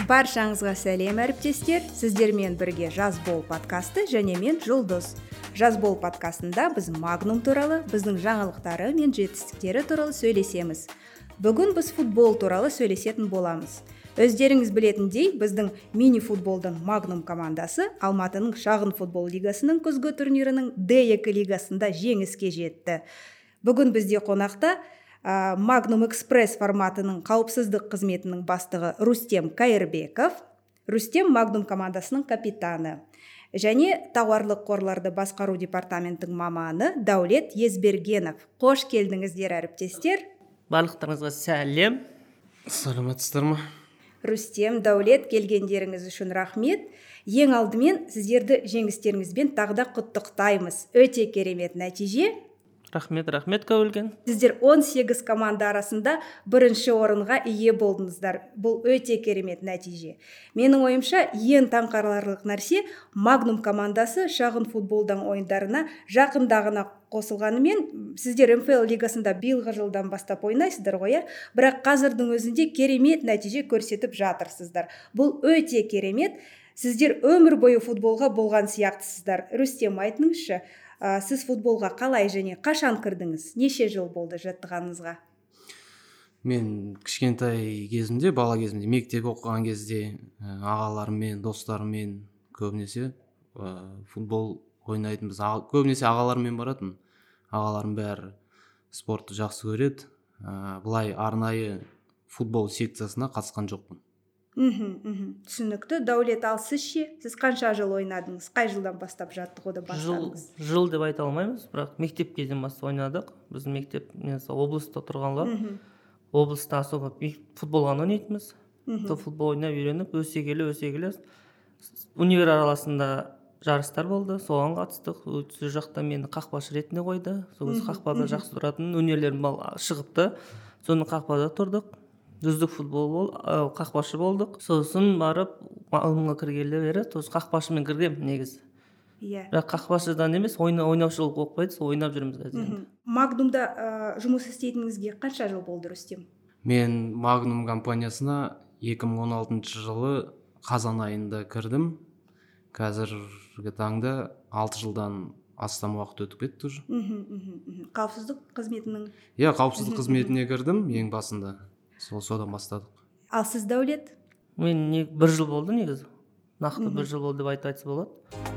Баршаңызға сәлем әріптестер, сіздермен бірге Жазбол подкасты және мен Жұлдыз. Жазбол подкастында біз Магнум туралы, біздің жаңалықтары мен жетістіктері туралы сөйлесеміз. Бүгін біз футбол туралы сөйлесетін боламыз. Өздеріңіз білетіндей, біздің мини-футболдың Магнум командасы Алматының шағын футбол лигасының күзгі турнирінің D2 лигасында жеңіске жетті. Бүгін бізде қонақта Magnum Express форматының қауіпсіздік қызметінің бастығы Рустем Кайырбеков, Рустем Magnum командасының капитаны, және тауарлық қорларды басқару департаментінің маманы Даулет Езбергенов. Қош келдіңіздер, әріптестер. Барлықтарыңызға сәлем. Саламатсыздар ма? Рустем, Даулет, келгендеріңіз үшін рахмет. Ең алдымен сіздерді жеңістеріңізбен тағы да құттықтаймыз. Өте керемет нәтиже. Рахмет көбілген. Сіздер 18 команда арасында бірінші орынға ие болдыңыздар. Бұл өте керемет нәтиже. Менің ойымша, ең таңқаларлық нәрсе Magnum командасы шағын футболдан ойындарына жақындағына қосылғанымен, сіздер МФЛ лигасында биылғы жылдан бастап ойнайсыздар ғой, бірақ қазірдің өзінде керемет нәтиже көрсетіп жатырсыздар. Бұл өте керемет. Сіздер өмір бойы футболға болған сияқтысыздар. Рустем, айтыңызшы, сіз футболға қалай және қашан кірдіңіз? Неше жыл болды жаттығаныңызға? Мен кішкентай кезімде, бала кезімде, мектеп оқыған кезде ағаларыммен, достарыммен көбінесе футбол ойнайтынбыз. Көбінесе ағаларыммен баратын. Ағаларым бәрі спортты жақсы көреді. Бұлай арнайы футбол секциясына қатысқан жоқпын. Түсінікті. Даулет, ал сіз ше? Сіз қанша жыл ойнадыңыз? Қай жылдан бастап жаттығуды бастадыңыз? Жыл деп айта алмаймыз, бірақ мектеп кезден бастап ойнадық. Біздің мектеп облыста тұрғанлар. Облыста особо футболға ойнайтынбыз. Футбол ойнап үйреніп, өсе келе универ араласында жарыстар болды, соған қатыстық. Сол жақта мені қақпашы ретінде қойды. Сол қақпада жақсы тұратын өнерлерім шығыпты. Соны қақпада тұрдық. Үздік футбол қақпашы болдық. Сосын барып алымға кіргелі бері, қақпашымен кіргем негізі. Бірақ қақпашыдан емес, ойнаушылық оқпайды, ойнап жүрміз қазір. Магнумда жұмыс істейтініңізге қанша жыл болды, Рустем? Мен Magnum компаниясына 2016 жылы қазан айында кірдім. Қазіргі таңда 6 жылдан астам уақыт өтіп кетті уже. Қауіпсіздік қызметінің? Қауіпсіздік қызметіне кірдім ең басында. Содан бастадық. Ал сіз, Даулет? Мен 1 жыл болды негізі. Нақты 1 жыл болды деп айтса болады.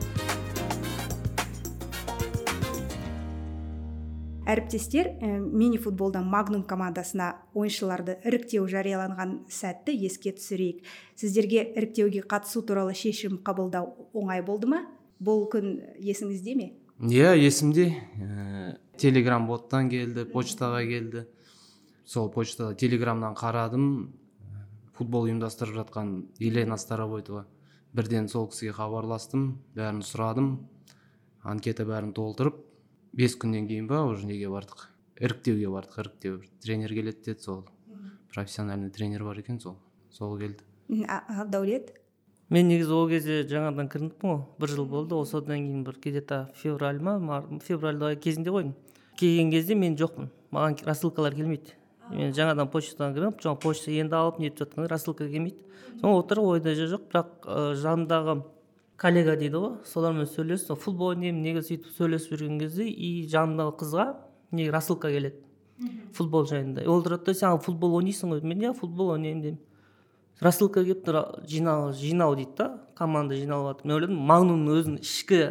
Әріптестер, мини-футболдан Magnum командасына ойыншыларды іріктеу жарияланған сәтті еске түсірейік. Сіздерге іріктеуге қатысу туралы шешім қабылдау оңай болды ма? Бұл күн есіңізде ме? Есімде. Телеграм боттан келді, почтаға келді. Сол почтада телеграмнан қарадым, футбол ұйымдастырып жатқан Елена Старовойтова. Бірден сол кісіге хабарластым, бәрін сұрадым, анкета бәрін толтырып, 5 күннен кейін уже неге бардық? Іріктеуге бардық, іріктеу. Тренер келеді деді, сол профессиональный тренер бар екен, сол келді. Даулет? Мен негізі ол кезде жаңадан кірдім ғой, 1 жыл болды, осыдан кейін бір где-то февральда кезінде қойдым. Келген кезде мен жоқпын, маған рассылкалар келмейді. Мен жаңадан почтадан кіріп, почта енді алып нетіп жатқанда рассылка келмейді. Соң отырып ойда жоқ, бірақ жанымдағы коллега дейді ғой, солармен сөйлесіп, футбол ойнаймын, неге сөйтіп сөйлесіп жүрген кезде, и жанымдағы қызға неге рассылка келеді. Футбол жайында. Ол тұрады, сен футбол ойнайсың ғой? Мен футбол ойнаймын деймін. Рассылка келіп тұр, жинау дейді да, команда жиналып жатыр. Мен ойладым, Magnumның өзінің ішкі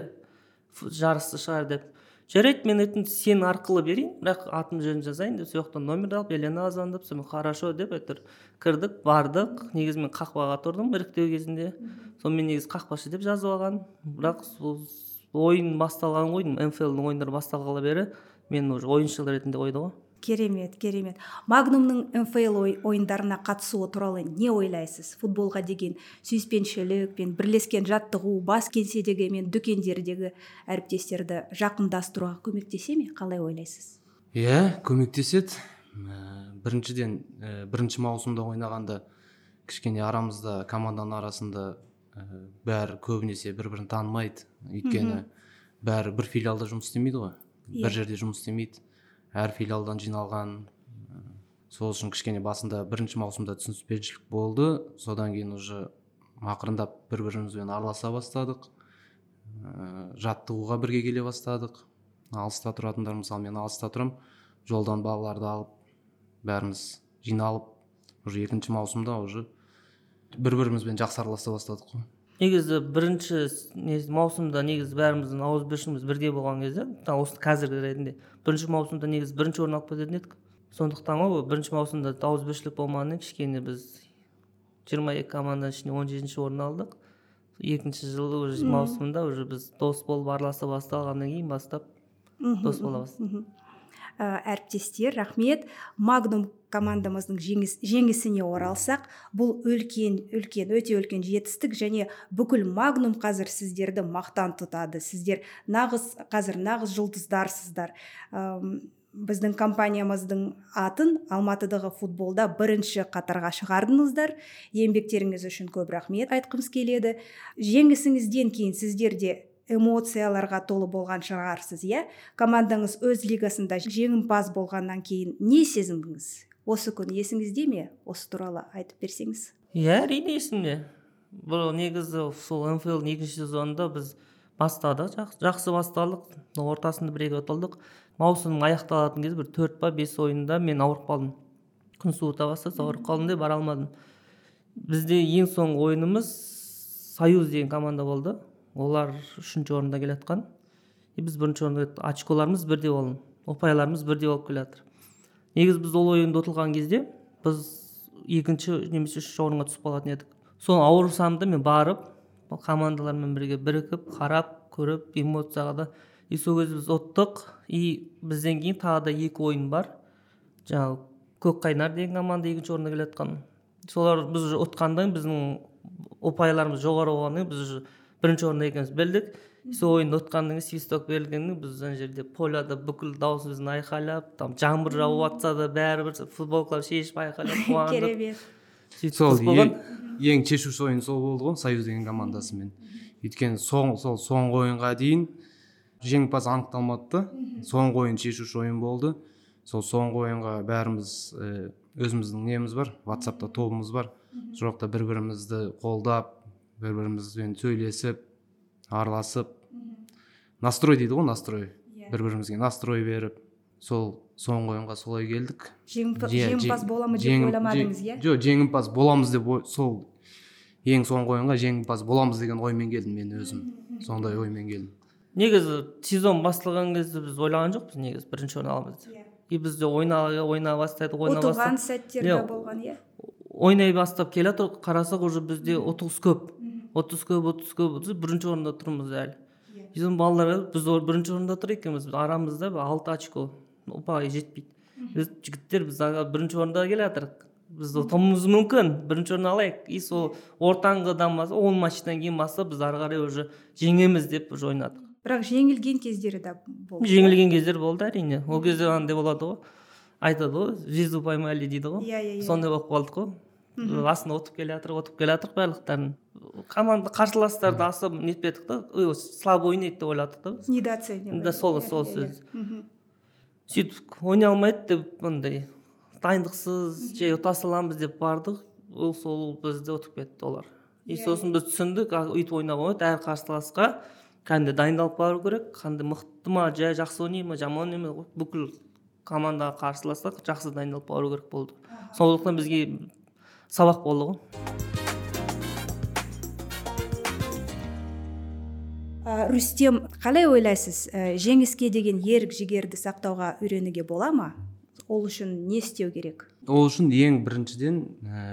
жарысы шығар деп. Жарайды, мен өтін сен арқылы берейін, бірақ атын жөнін жазайын деп, сояқтан номер алып, Елена звондап, сомен хорошо деп айтыр. Кірдік, бардық, негізі мен қақпаға тұрдым іріктеу кезінде. Соны мен негізі қақпашы деп жазып алған. Бірақ ойын басталған ғой, МФЛ-дің ойындары басталғалы бері, мен уже ойыншы ретінде қойды ғой. Керемет. Magnumның МФЛ ойындарына қатысуы туралы не ойлайсыз? Футболға деген сүйіспеншілік пен бірлескен жаттығу, бас кеңседегі мен дүкендердегі әріптестерді жақындастыруға көмектесе ме? Қалай ойлайсыз? Көмектеседі. Біріншіден, бірінші маусымда ойнағанда кішкене арамызда, команданың арасында бәрі көбінесе бір-бірін танымайды. Өйткені бәрі бір филиалда жұмыс істемейді ғой. Бір жерде жұмыс істемейді. Әр филиалдан жиналған сол үшін кішкене басында бірінші маусымда түсініспеушілік болды. Содан кейін уже ақырындап бір-бірімізбен араласа бастадық. Жаттығуға бірге келе бастадық. Алыста тұратындар, мысалы мен алыста тұрам, жолдан балаларды алып, бәріміз жиналып, уже екінші маусымда уже бір-бірімізбен жақсы араласа бастадық қой. Негізі бірінші маусымда негізі бәріміздің ауызбіршілігіміз бірдей болған кезде, осы қазіргі ретінде бірінші маусымда негізі бірінші орын алып кететін едік. Сондықтан ғой бірінші маусымда ауызбіршілік болмағаннан кішкене біз 22 команданың ішінде 17-ші орын алдық. Екінші жылы уже маусымда уже біз дос болып араласа басталғаннан кейін бастап дос бола бастадық. Әріптестер, рахмет. Магнум командамыздың жеңісіне оралсақ, бұл өте үлкен жетістік, және бүкіл Магнум қазір сіздерді мақтан тұтады. Сіздер қазір нағыз жұлдыздарсыздар. Біздің компаниямыздың атын Алматыдағы футболда бірінші қатарға шығардыңыздар. Еңбектеріңіз үшін көп рахмет айтқымыз келеді. Жеңісіңізден кейін сіздерде эмоцияларға толы болған шығарсыз, командаңыз өз лигасында жеңімпаз болғаннан кейін не сезіндіңіз? Осы күн есіңізде ме? Осы туралы айтып берсеңіз. Әрине есімде. Бұл негізі сол МФЛ-дің екінші сезонында біз бастадық, жақсы бастадық, ортасында бір-екі ұтылдық. Маусымның аяқталатын кезде бір 4-5 ойында мен ауырып қалдым. Күн суыта бастады, ауырып қалдым деп бара алмадым. Бізде ең соңғы ойынымыз Союз деген команда болды. Олар 3-ші орында келе жатқан. Біз 1-ші орында, очколарымыз бірдей болған, ұпайларымыз бірдей болып келе жатыр. Негізі біз ол ойында ұтылған кезде біз 2-ші немесе 3-ші орынға түсіп қалатын едік. Сол ауырсам да мен барып, командалармен бірге бірігіп, қарап, көріп, эмоцияға да. Сол кезде біз ұттық. Бізден кейін тағы да 2 ойын бар. Жаңағы Көкқайнар деген команда 2-ші орында келе жатқан. Солар біз ұтқандан біздің ұпайларымыз жоғары болғаннан біз 1-ші орында екеніміз білдік. Сол ойынды ұтқаннан кейін свисток берілгенде біз ана жерде поляда бүкіл дауысымызды айқайлап, жаңбыр жауып жатса да бәрібір футболкалар шешіп айқайлап қуандық. Керемет. Сол ең шешуші ойын сол болды ғой, Союз деген командасымен. Өйткені соңғы ойынға дейін жеңімпаз анықталмады. Соңғы ойын шешуші ойын болды. Сол соңғы ойынға бәріміз өзіміздің неміз бар, WhatsApp-та тобымыз бар. Сол жақта бір-бірімізді қолдап, бір-бірімізбен сөйлесіп, араласып, настрой дейді ғой, настрой. Бір-бірімізге настрой беріп, сол соңғы ойынға солай келдік. Жеңімпаз боламыз деп ойламадыңыз, Жоқ, жеңімпаз боламыз деп, сол ең соңғы ойынға жеңімпаз боламыз деген оймен келдім мен өзім. Сондай оймен келдім. Негізі сезон басталған кезде біз ойлаған жоқпыз, негізі 1-ші орын аламыз деп. Бізде ойна бастайды, ұтылған сәттерде болған, ойнай бастап келе жатыр, қарасақ уже бізде 30 көп. 30 көп, 1-ші орында тұрмыз әлі. Bizim балалар біз 1-ші орында тұр екенбіз, арамызда 6 очко, ұпайға жетпейді. Біз жігіттер біз 1-ші орында келе жатырық. Біз ұтуымыз мүмкін, 1-ші орын алайық. Сол ортаңғыдан бастап, 10 матчтан кейін бастап біз ары қарай уже жеңеміз деп ойнадық. Бірақ жеңілген кездері де болды. Жеңілген кездер болды әрине. Ол кезде андай болады ғой. Айтады ғой, звезду поймали дейді ғой. Сондай болып қалдық қой. Астында отып келе жатырық барлықтарын. Команда қарсыластарды асып нетпедік та, слабо ойнайды деп ойладық та. Недооценивали. Да, сол сөз. Сөйтіп ойнай алмайды деп мындай дайындықсыз же ұта саламыз деп бардық. Сол бізді ұтып кетті олар. Сосын біз түсіндік, өйтіп ойнап болмайды, әр қарсыласқа қандай дайындалып бару керек, қандай мықты ма, жақсы ойнай ма, жаман ойнай ма, бүкіл командаға қарсыласқа жақсы дайындалып бару керек болды. Сондықтан бізге сабақ болды ғой. Рүстем, қалай ойлайсыз, жеңіске деген ерік жігерді сақтауға үйренуге бола ма? Ол үшін не істеу керек? Ол үшін ең біріншіден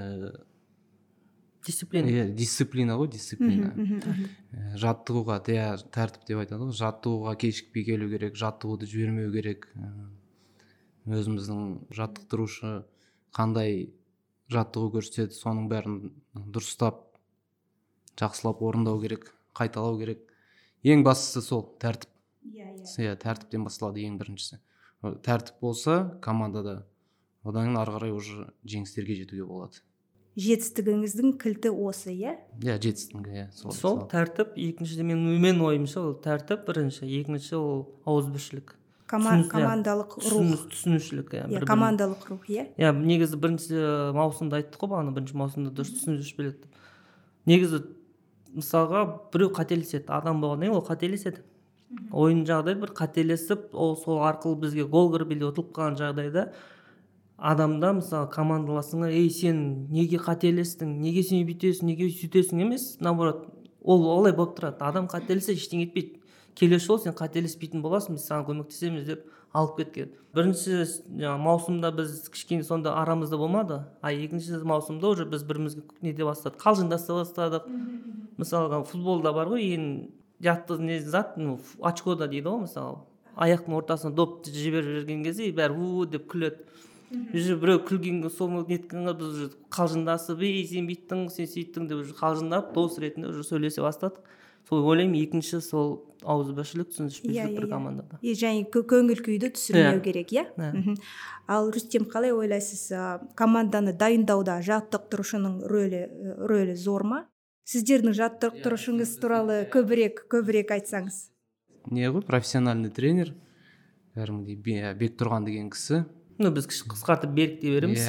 дисциплина ғой, дисциплина. Жаттығуға, тәртіп деп айтады ғой, жаттығуға кешікпей келу керек, жаттығуды жібермеу керек. Өзіміздің жаттықтырушы қандай жаттығу көрсетеді, соның бәрін дұрыстап, жақсылап орындау керек, қайталау керек. Ең бастысы сол тәртіп. Тәртіптен басталады ең біріншісі. Тәртіп болса командада, одан кейін ары қарай уже жеңістерге жетуге болады. Жетістігіңіздің кілті осы, жетістігі, сол тәртіп. Екіншіде менің ойымша ол тәртіп бірінші, екінші ол ауызбіршілік. командалық рух, түсінушілік. командалық рух, иә. Негізі бірінші маусымда айттық қой бағана, бірінші маусымда дұрыс түсінушілік біледі. Негізі мысалға біреу қателеседі, адам болғаннан кейін ол қателеседі. Ойын жағдайда бір қателесіп, ол сол арқылы бізге гол кіріп или ұтылып қалған жағдайда адамда мысалы командаласыңа сен неге қателестің, неге сен бүйтесің, неге сөйтесің емес, наоборот, ол олай болып тұрады. Адам қателессе ештеңе етпейді. Келесі жолы сен қателеспейтін боласың, біз саған көмектесеміз деп алып кеткен. Бірінші маусымда біз кішкене сонда арамызда болмады, екінші маусымда уже біз бірімізге неде бастадық, қалжыңдаса бастадық. Мысалға футболда бар ғой, ең жатты не зат, очкода дейді ғой, мысалы аяқтың ортасына допты жіберіп жүрген кезде бәрі деп күледі. Уже біреу күлген соны неткенге біз қалжыңдасып, сен бүйттің, сен сөйттің деп қалжыңдап, дос ретінде уже сөйлесе бастадық. Сол ойлаймын, екінші сол ауызбіршілік, түсініспеушілік бір командада. Және көңіл күйді түсірмеу керек, Ал Рүстем, қалай ойлайсыз, команданы дайындауда жаттықтырушының рөлі зор ма? Сіздердің жаттықтырушыңыз туралы көбірек айтсаңыз. Не ғой, профессиональный тренер, кәдімгідей Бектұрған деген кісі. Біз қысқартып Берік дей береміз.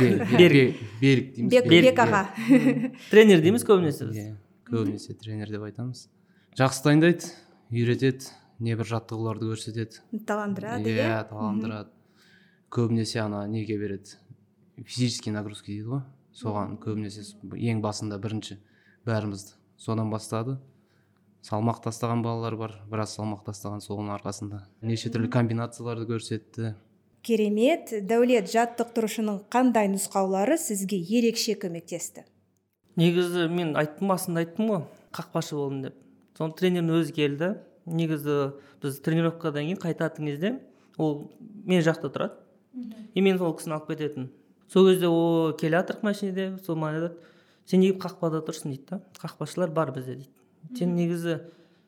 Берік дейміз. Бек аға. Тренер дейміз көбінесе біз. Көбінесе тренер деп айтамыз. Жақсы дайындайды, үйретеді, небір жаттығуларды көрсетеді. Таландырады, таландырады. Көбінесе неге береді, физический нагрузки дейді ғой, соған көбінесе ең басында бірінші бәрімізді содан бастады. Салмақ тастаған балалар бар, біраз салмақ тастаған соның арқасында. Неше түрлі комбинацияларды көрсетті. Керемет. Дәулет, жаттықтырушының қандай нұсқаулары сізге ерекше көмектесті? Негізі мен басында айттым ғой, қақпашы болдым деп. Соны тренердің өзі келді. Негізі біз тренировкадан кейін қайтатын кезде ол мен жақта тұрады. Мен сол кісіні алып кететін. Сол кезде ол келе жатырық машинеде, сол маған айтады, сен неге қақпада тұрсың дейді. Қақпашылар бар бізде дейді. Сен негізі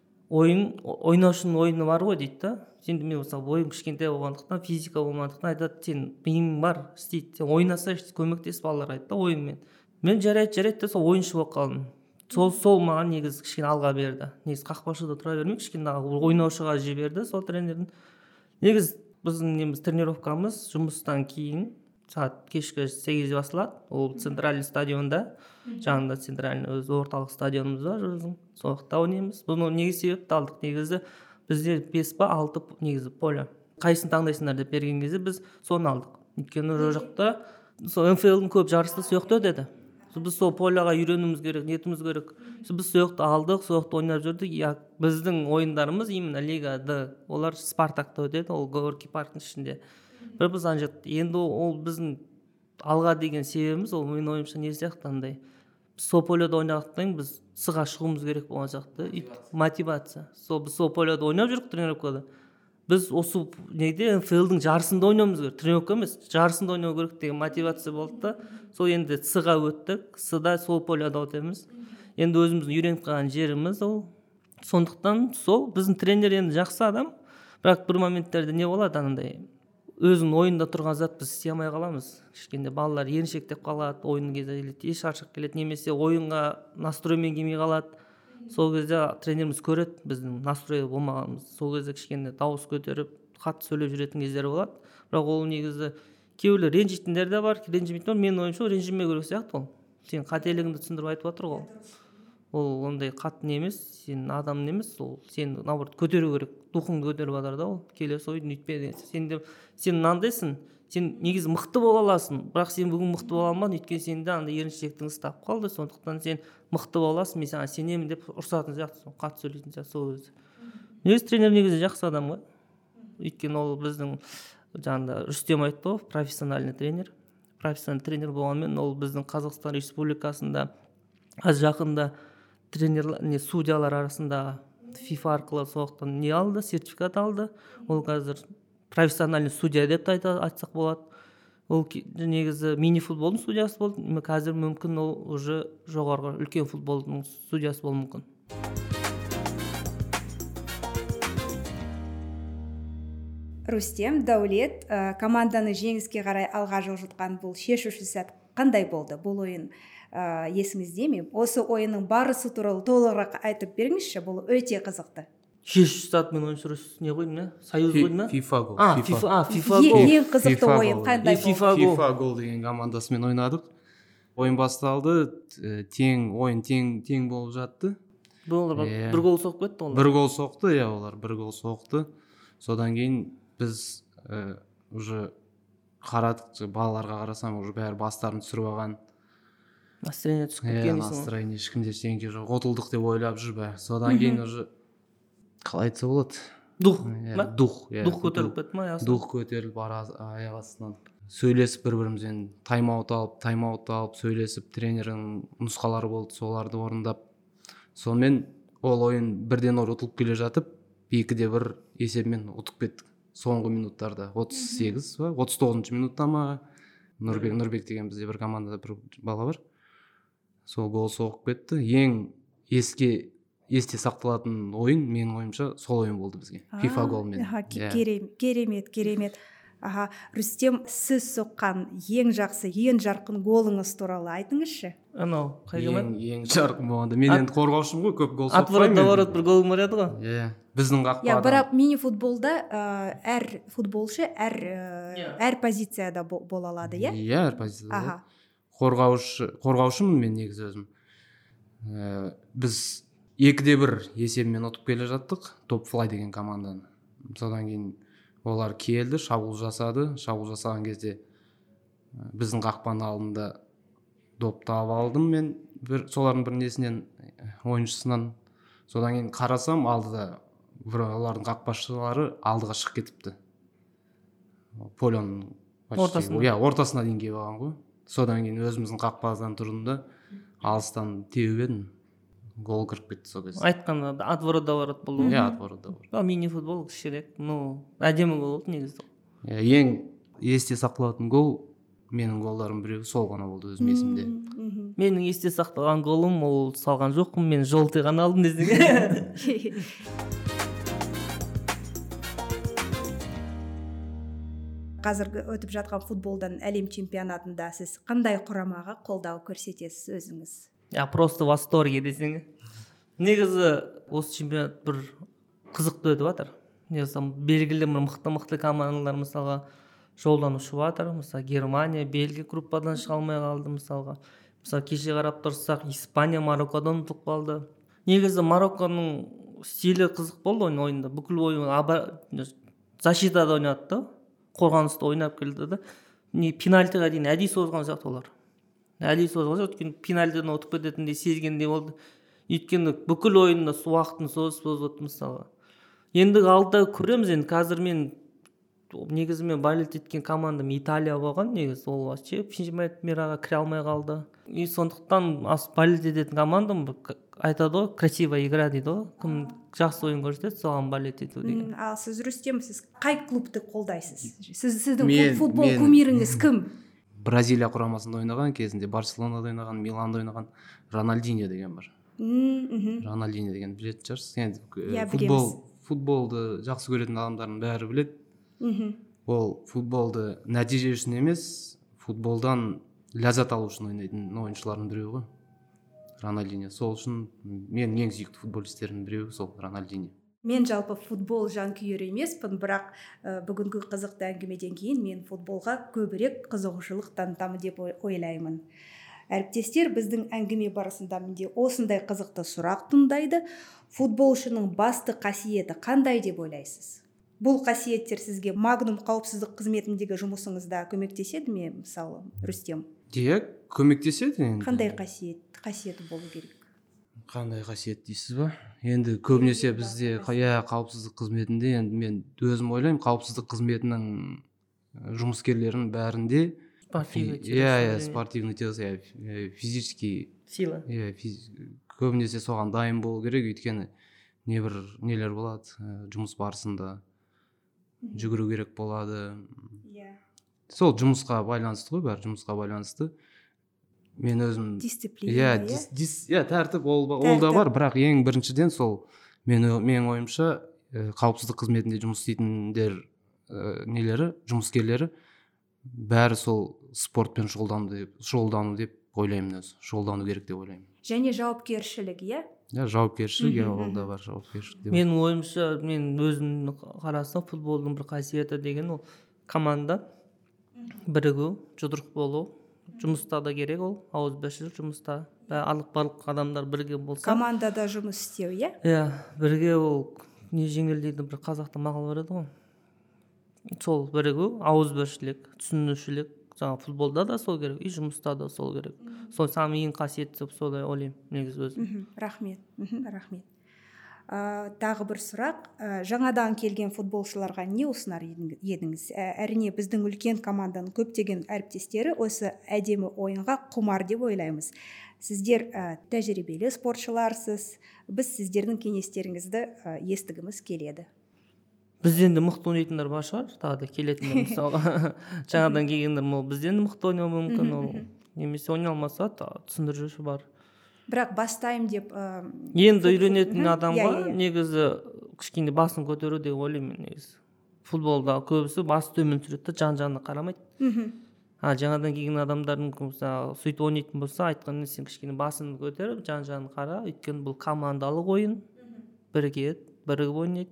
ойнаушының ойыны бар ғой дейді. Сен мен мысалы ойым кішкентай болғандықтан, физика болмағандықтан айтады, сен миың бар, істейді. Сен ойнаса көмектес балалар айтты ойынмен. Мен жарайды, сол ойыншы болып қалдым. Сол маған негізі кішкене алға берді. Негізі қақпашыда тұра бермей, кішкене ойнаушыға жіберді сол тренердің. Негізі біздің тренировкамыз жұмыстан кейін сағат кешкі 8 басталады. Ол центральный стадионда, жанында центральный өз орталық стадионымыз бар, сол жақта ойнаймыз. Бұны негізі себепті алдық. Негізі бізде 5 па 6 негізі поле. Қайсын таңдайсыңдар деп берген кезде біз соны алдық. Өйткені ол жақта сол НФЛ-дің көп жарысы сол жақта өтеді. Біз сол поляға үйренуіміз керек, нетіміз керек. Біз сол жақта алдық, сол жақта ойнап жүрдік. Біздің ойындарымыз именно лигада, олар Спартакта өтеді, ол Горький парктың ішінде. Біз енді ол біздің алға деген себебіміз, ол мен ойымша не сияқты андай. Сол поляда ойнағықтан біз сыға шығуымыз керек болған сияқты. Мотивация. Біз сол поляда ойнап жүрік тренировкада. Біз осы неде НФЛ-дің жарысында ойнауымыз керек. Тренировка емес, жарысында ойнау керек деген мотивация болды да. Сол енді сыға өттік. Сыда сол поляда өтеміз. Енді өзіміздің үйреніп қалған жеріміз ол. Сондықтан сол біздің тренер енді жақсы адам. Бірақ бір моменттерде не болады анандай. Өзінің ойында тұрған зат біз істей алмай қаламыз. Кішкенде балалар еріншектеп қалады, ойын кезде шаршап келеді, немесе ойынға настроймен келмей қалады. Сол кезде тренеріміз көреді біздің настрой болмағанымыз. Сол кезде кішкене дауыс көтеріп, қатты сөйлеп жүретін кездер болады. Бірақ ол негізі кейбіреулер ренжитіндер де бар, ренжімейтіндер. Мен ойымша ренжімеу керек сияқты ол. Сен қателігіңді түсіндіріп айтып отыр ғой. Ол ондай қатты емес, сен адам емес, ол сен наоборот көтеру керек, духыңды көтеріп жатыр да ол. Келесі ойын үйтпе. Сен мынандайсың, сен негізі мықты бола аласың, бірақ сен бүгін мықты бола алмадың, өйткені сенде андай еріншектің ұстап қалды, сондықтан сен мықты боласың, мен саған сенемін деп ұрсатын сияқты, қатты сөйлейтін сияқты сол өзі. Негізі тренер негізі жақсы адам ғой. Өйткені ол біздің жаңағыда Рүстем айтты ғой, профессиональный тренер. Профессиональный тренер болғанмен ол біздің Қазақстан Республикасында аз жақында тренерлер, судьялар арасында FIFA арқылы соқтан не алды, сертификат алды. Ол қазір профессиональный судья деп айтсақ болады. Ол негізі мини-футболдың судьясы болды. Қазір мүмкін ол уже жоғарғы үлкен футболдың судьясы болуы мүмкін. Рүстем, Дәулет, команданы жеңіске қарай алға жылжытқан бұл шешуші сәт қандай болды? Бұл ойын есіңізде ме? Осы ойынның барысы туралы толығырақ айтып беріңізші, бұл өте қызықты. 600 ойын сүресіз не қойдым иә, союз қойдым иә. FIFA гол. FIFA гол. Ең қызықты FIFA ойын гол. қандай болды? FIFA гол деген командасымен ойнадық. Ойын басталды, ойын тең болып жатты. Олар бір гол соғып кетті олар. Бір гол соқты, олар бір гол соқты. Содан кейін біз уже қарадық, балаларға қарасам уже бәрі бастарын түсіріп алған. Настроение түсіп кеткен. Настроение ешкімде ештеңе жоқ, ұтылдық деп ойлап жүр бәрі. Содан кейін уже қалай айтса болады? Дух көтеріліп кетті ма? Дух көтеріліп аяқ астынан сөйлесіп бір-бірімізбен тайм-аут алып сөйлесіп, тренердің нұсқалары болды, соларды орындап. Сонымен ол ойын 1-0 ұтылып келе жатып, 2-1 есебімен ұтып кеттік. Соңғы минуттарда 39 минутта ма, Нұрбек деген бізде бір командада бір бала бар. Сол гол соғып кетті. Ең есте сақталатын ойын, менің ойымша, сол ойын болды бізге. FIFA голмен. Керемет. Рүстем, сіз соққан ең жақсы, ең жарқын голыңыз туралы айтыңызшы. Анау, қай команда? Ең жарқын болғанда. Мен енді қорғаушым ғой, көп гол соқпаймын. Отворот бір голым бар еді ғой. Біздің қақпадан. Бірақ мини-футболда әр футболшы әр позицияда бола алады, иә? Әр позицияда. Қорғаушымын мен негізі өзім. Біз 2-1 есебімен ұтып келе жаттық, Топ-Флай деген команданы. Содан кейін олар келді, шабуыл жасаған кезде біздің қақпаның алдында допты алып алдым мен, солардың бір несінен, ойыншысынан. Содан кейін қарасам, алдыда олардың қақпашылары алдыға шығып кетіпті. Полионың ортасына дейін келіп алған ғой. Содан кейін өзіміздің қақпадан тұрдым да, алыстан теуіп едім. Гол кіріп кетті сол кезде. Айтқанда отворотта болды. Отворотта бар. Мини-футбол кішірек, әдемі гол болды негізі. Ең есте сақталатын гол, менің голдарым біреу сол ғана болды өзім есімде. Менің есте сақталған голым, ол салған жоқпын, мен жолты ғана алдым десең. Қазіргі өтіп жатқан футболдан әлем чемпионатында сіз қандай құрамаға қолдау көрсетесіз өзіңіз? Просто восторге десең. Негізі осы чемпионат бір қызықты өтіп жатыр. Негізі белгілі мықты командалар мысалға жолдан ұшып жатыр. Мысалы Германия, Бельгия группадан шыға алмай қалды мысалға. Мысалы кеше қарап тұрсақ, Испания Мароккодан ұтылып қалды. Негізі Марокконың стилі қызық болды ойында. Бүкіл ойын защитада ойнады, қорғаныста ойнап келді да. Пенальтиға дейін әдейі созған сияқты олар. Өйткені пенальтиден ұтып кететіндей сезгендей болды. Өйткені бүкіл ойында уақытын созып отты мысалға. Енді алда көреміз. Енді қазір негізімен болеть еткен командам Италия болған. Негізі ол чемпионатқа кіре алмай қалды. Сондықтан болеть ететін командам айтады ғой, красиво игра дейді ғой. Кім жақсы ойын көрсетеді, соған болеть ету деген. Ал сіз Рүстем, сіз қай клубты қолдайсыз? Сіздің футбол кумиріңіз кім? Бразилия құрамасында ойнаған, кезінде Барселонада ойнаған, Миланда ойнаған Рональдиньо деген бар. Рональдиньо деген білетін шығарсыз. Футболды жақсы көретін адамдардың бәрі біледі. Ол футболды нәтиже үшін емес, футболдан ләззат алу үшін ойнайтын ойыншылардың біреуі ғой. Рональдиньо. Сол үшін менің ең сүйікті футболистерімнің біреуі сол Рональдиньо. Мен жалпы футбол жанкүйері емеспін, бірақ бүгінгі қызықты әңгімеден кейін мен футболға көбірек қызығушылық танытамын деп ойлаймын. Әріптестер, біздің әңгіме барысында менде осындай қызықты сұрақ туындайды. Футболшының басты қасиеті қандай деп ойлайсыз? Бұл қасиеттер сізге Магнум қауіпсіздік қызметіндегі жұмысыңызда көмектеседі ме, мысалы, Рүстем? Көмектеседі. Қандай қасиеті болу керек? Қандай қасиет дейсіз ба? Енді көбінесе бізде қауіпсіздік қызметінде, енді мен өзім ойлаймын, қауіпсіздік қызметінің жұмыскерлерінің бәрінде спортивный тело, физический сила. Көбінесе соған дайын болу керек, өйткені нелер болады, жұмыс барысында жүгіру керек болады. Сол жұмысқа байланысты ғой, бәрі жұмысқа байланысты. Мен өзім дисциплина, тәртіп ол да бар, бірақ ең біріншіден сол менің ойымша қауіпсіздік қызметінде жұмыс істейтіндер жұмыскерлері бәрі сол спортпен шұғылдану деп ойлаймын өзі. Шұғылдану керек деп ойлаймын. Және жауапкершілік, жауапкершілік, ол да бар жауапкершілік деп. Менің ойымша, мен өзім қарасам, футболдың бір қасиеті деген ол команда бірігу, жұдырық болу. Жұмыста да керек ол, ауызбіршілік жұмыста. Барлық адамдар бірге болса. Командада жұмыс істеу, иә? Иә, бірге ол не жеңілдейді, бір қазақта мақал бар еді ғой. Сол бірігу, ауызбіршілік, түсінушілік. Жаңа футболда да сол керек, и жұмыста да сол керек. Сол самый ең қасиетті деп солай ойлаймын, негізі өзім. Рахмет. Тағы бір сұрақ, жаңадан келген футболшыларға не ұсынар едіңіз? Әрине біздің үлкен команданың көптеген әріптестері осы әдемі ойынға құмар деп ойлаймыз. Сіздер тәжірибелі спортшыларсыз, біз сіздердің кеңестеріңізді естігіміз келеді. Бізден де мықты ойнайтындар бар шығар, тағы да келетіндер мысалға. Жаңадан келгендер бізден де мықты ойнауы мүмкін, ол немесе ойнай алмаса түсіндіруші бар. Бірақ бастаймын деп енді үйренетін адамға негізі кішкене басын көтеру деп ойлаймын негізі. Футболда көбісі басы төмен түсіреді, жан-жағына қарамайды. Жаңадан келген адамдардың сөйтіп ойнайтын болса, айтқанда сен кішкене басын көтеріп, жан-жағына қара, өйткені бұл командалық ойын, бірігіп ойнайды.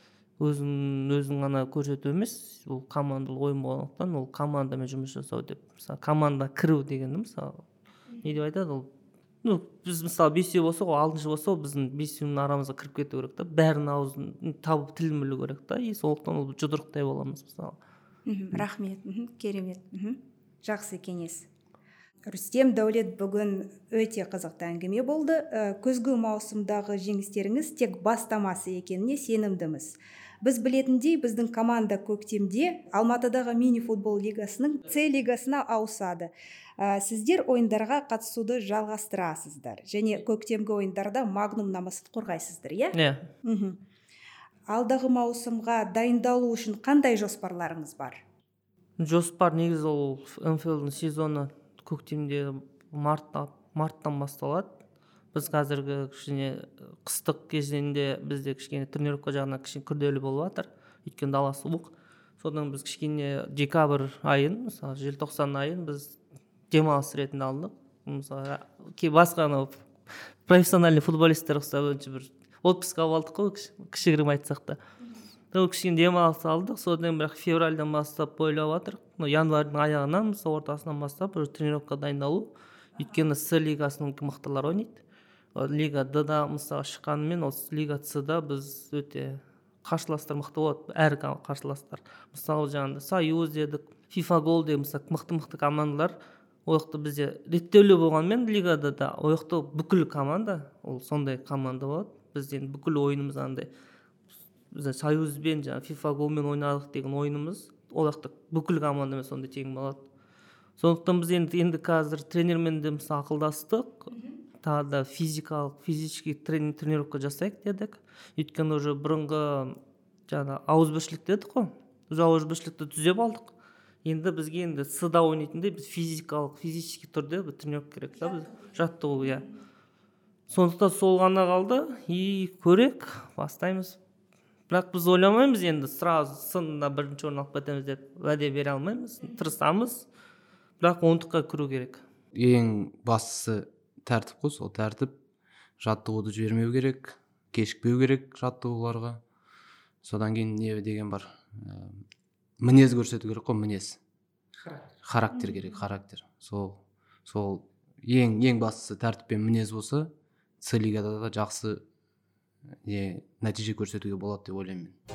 Өзің ғана көрсету емес, бұл командалық ойын болғандықтан, ол командамен жұмыс жасау деп. Мысалы, команда кіру дегенді, мысалы, не деп айтады ол? Біз мысалы 5 болса, ол 6 болса, біздің 5-нің арамызға кіріп кету керек та, бәрінің аузын табып тілін білу керек та, и сондықтан ол жұдырықтай боламыз мысалы. Рахмет, керемет. Жақсы кеңес. Рүстем, Дәулет, бүгін өте қызықты әңгіме болды. Күзгі маусымдағы жеңістеріңіз тек бастамасы екеніне сенімдіміз. Біз білетіндей, біздің команда көктемде Алматыдағы мини-футбол лигасының С лигасына ауысады. Сіздер ойындарға қатысуды жалғастырасыздар. Және көктемгі ойындарда Магнум намысын қорғайсыздар, иә? Иә. Алдағы маусымға дайындалу үшін қандай жоспарларыңыз бар? Жоспар негізі ол МФЛ-дің сезоны көктемде марттан басталады. Біз қазіргі кішкене қыстық кезеңде бізде кішкене тренировка жағынан кішкене күрделі болып жатыр. Өйткені дала суық. Содан біз кішкене декабрь айын, мысалы желтоқсан айын біз демалыс ретінде алдық. Мысалы басқа профессиональный футболисттер бір отпуск алдық қой, кішігірім айтсақ та. Кішкене демалыс алдық. Содан бірақ февральдан бастап ойлап жатырмық. Январьдың аяғынан, мысалы ортасынан бастап тренировка дайындалу. Өйткені С лигасының мықтылар ойнайды. Лига Д-да мысалы шыққанымен, осы Лига С-да біз өте қарсыластар мықты болады, әр қарсыластар. Мысалы жаңағыда Союз дедік, FIFA Gold деген мысалы мықты командалар, ояқта бізде реттеулі болғанмен Лигада да ояқта бүкіл команда, ол сондай команда болады. Бізден бүкіл ойынымыз андай, бізде Союзбен жаңағы FIFA Goldмен ойнадық деген ойынымыз, ояқта бүкіл командамен сондай тең болады. Сондықтан біз енді қазір тренермен де мысалы ақылдастық, тағы да физический тренировка жасайық дедік. Өйткені уже бұрынғы жаңа ауызбіршілік дедік қой. Біз ауызбіршілікті түзеп алдық. Енді бізге енді С-да ойнайтындай біз физический түрде тренировка керек та, біз жаттығу, иә. Сондықтан сол ғана қалды, и көрек, бастаймыз. Бірақ біз ойламаймыз енді сразу сында бірінші орын алып кетеміз деп уәде бере алмаймыз. Тырысамыз. Бірақ 10-ға кіру керек. Ең бастысы тәртіп қой, сол тәртіп. Жаттығуды жібермеу керек, кешікпеу керек жаттығуларға. Содан кейін не деген бар? Мінез көрсету керек қой, мінез. Характер керек, характер. Сол ең бастысы тәртіп пен мінез болса, С лигада да жақсы нәтиже көрсетуге болады деп ойлаймын мен.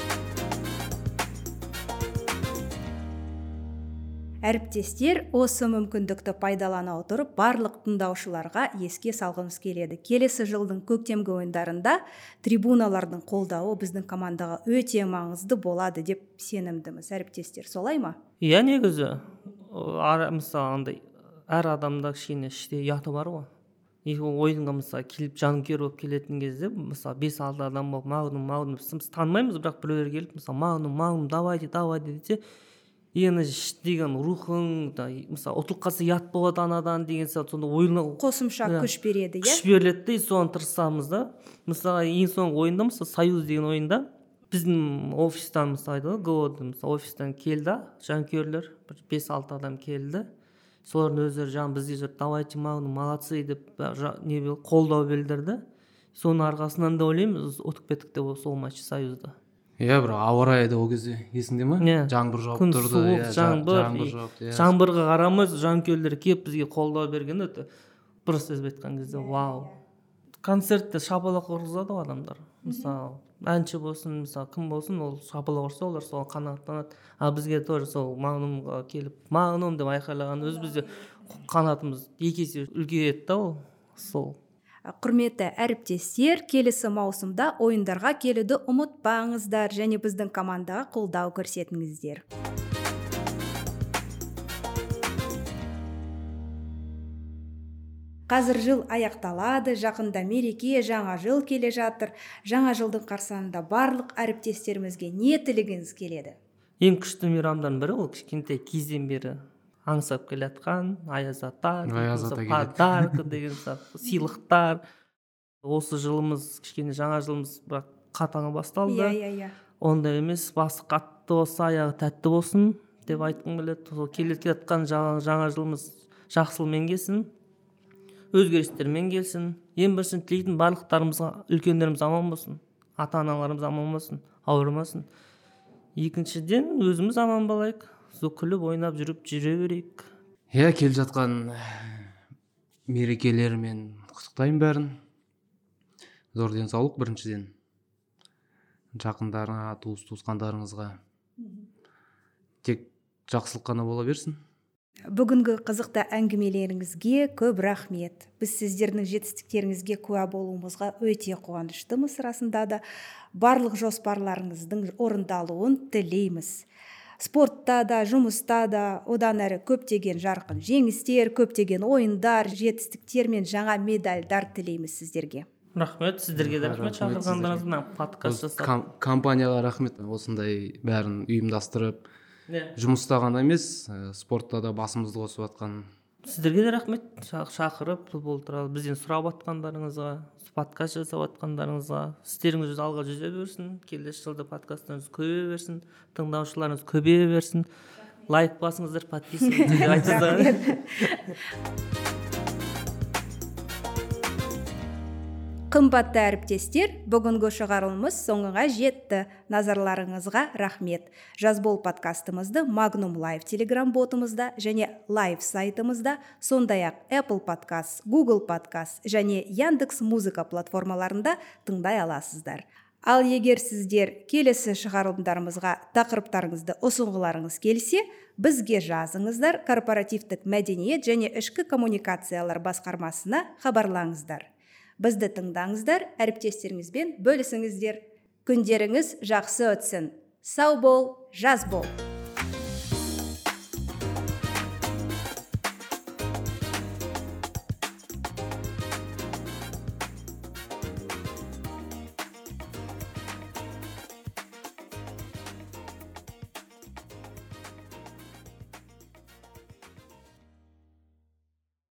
Әріптестер, осы мүмкіндікті пайдалана отырып барлық тыңдаушыларға еске салғымыз келеді. Келесі жылдың көктемгі ойындарында трибуналардың қолдауы біздің командаға өте маңызды болады деп сенімдіміз. Әріптестер, солай ма? Иә, негізі мысалы андай әр адамда кішкене іште ұяты бар ғой. Ойынға мысалы келіп жанкүйер болып келетін кезде, мысалы 5-6 адам болып Магнум біз танымаймыз, бірақ біреулер келіп мысалы Магнум давайте десе, ені деген рухың, мысалы ұтылып қалса ұят болады анадан деген сияқты, сонда ойына қосымша күш береді, иә? Күш беріледі, соны тырысамыз да. Мысалы ең соңғы ойында, мысалы Союз деген ойында біздің офистан мысалы офистан келді жанкүйерлер, 5-6 адам келді. Солардың өздері жаңа бізге давайте Магнум молодцы деп қолдау білдірді. Соның арқасынан да ойлаймын ұтып кеттік деп сол матч Союзда. Бір ауа райы да ол кезде есіңде ма? Жаңбыр жауып күн тұрды. суық, жаңбырға қарамай жанкүйерлер келіп бізге қолдау берген өте просто сөзбен айтқан кезде вау. Концертте шапалақ ұрғызады ғой адамдар. Мысалы әнші болсын, мысалы кім болсын, ол шапалақ ұрса олар соған қанаттанады. А бізге тоже сол Магнумға келіп Магнум деп айқайлаған өз бізде қанатымыз екі есе үлкейеді да ол сол. Құрметті әріптестер, келесі маусымда ойындарға келуді ұмытпаңыздар және біздің командаға қолдау көрсетіңіздер. Қазір жыл аяқталады, жақында мереке, жаңа жыл келе жатыр. Жаңа жылдың қарсаңында барлық әріптестерімізге не тілегіңіз келеді? Ең күшті мейрамдардың бірі ол кішкентай кезден бері аңсап келе жатқан аяз ата, подарка деген сыйлықтар. Осы жылымыз кішкене жаңа жылымыз бірақ қатаңы басталды. Ондай емес, басы қатты болса, аяғы тәтті болсын деп айтқым келеді. Сол келе жатқан жаңа жылымыз жақсылықпен келсін, өзгерістермен келсін. Ең бірінші тілейтін барлықтарымызға үлкендеріміз аман болсын, ата-аналарымыз аман болсын, ауырмасын. Екіншіден өзіміз аман болайық, күліп ойнап жүріп жүре берейік. Келе жатқан мерекелермен құттықтаймын бәрін. Зор денсаулық біріншіден. Жақындарыңа, туыс-туысқандарыңызға тек жақсылық қана бола берсін. Бүгінгі қызықты әңгімелеріңізге көп рахмет. Біз сіздердің жетістіктеріңізге куә болуымызға өте қуаныштымыз. Расында да барлық жоспарларыңыздың орындалуын тілейміз. Спортта да, жұмыста да одан әрі көптеген жарқын жеңістер, көптеген ойындар, жетістіктер мен жаңа медальдар тілейміз сіздерге. Рахмет, сіздерге де рахмет шақырғандарыңызға, подкаст жасап. Компанияға рахмет, осындай бәрін ұйымдастырып, жұмыста ғана емес, спортта да басымызды қосып жатқан. Сіздерге де рахмет, шақырып футбол туралы бізден сұрап жатқандарыңызға, подкаст жасап жатқандарыңызға. Істеріңіз алға жүзе берсін, келесі жылда подкасттарыңыз көбейе берсін, тыңдаушыларыңыз көбейе берсін. Лайк басыңыздар, подписывайтесь деп айтыңыздар. Қымбатты әріптестер, бүгінгі шығарылымыз соңына жетті. Назарларыңызға рахмет. Жазбол подкастымызды Magnum Live Telegram ботымызда және Live сайтымызда, сондай-ақ Apple Podcast, Google Podcast және Яндекс Музыка платформаларында тыңдай аласыздар. Ал егер сіздер келесі шығарылымдарымызға тақырыптарыңызды ұсынғыларыңыз келсе, бізге жазыңыздар, корпоративтік мәдениет және ішкі коммуникациялар басқармасына хабарлаңыздар. Бізді тыңдаңыздар, әріптестеріңізбен бөлісіңіздер. Күндеріңіз жақсы өтсін. Сау бол, жаз бол.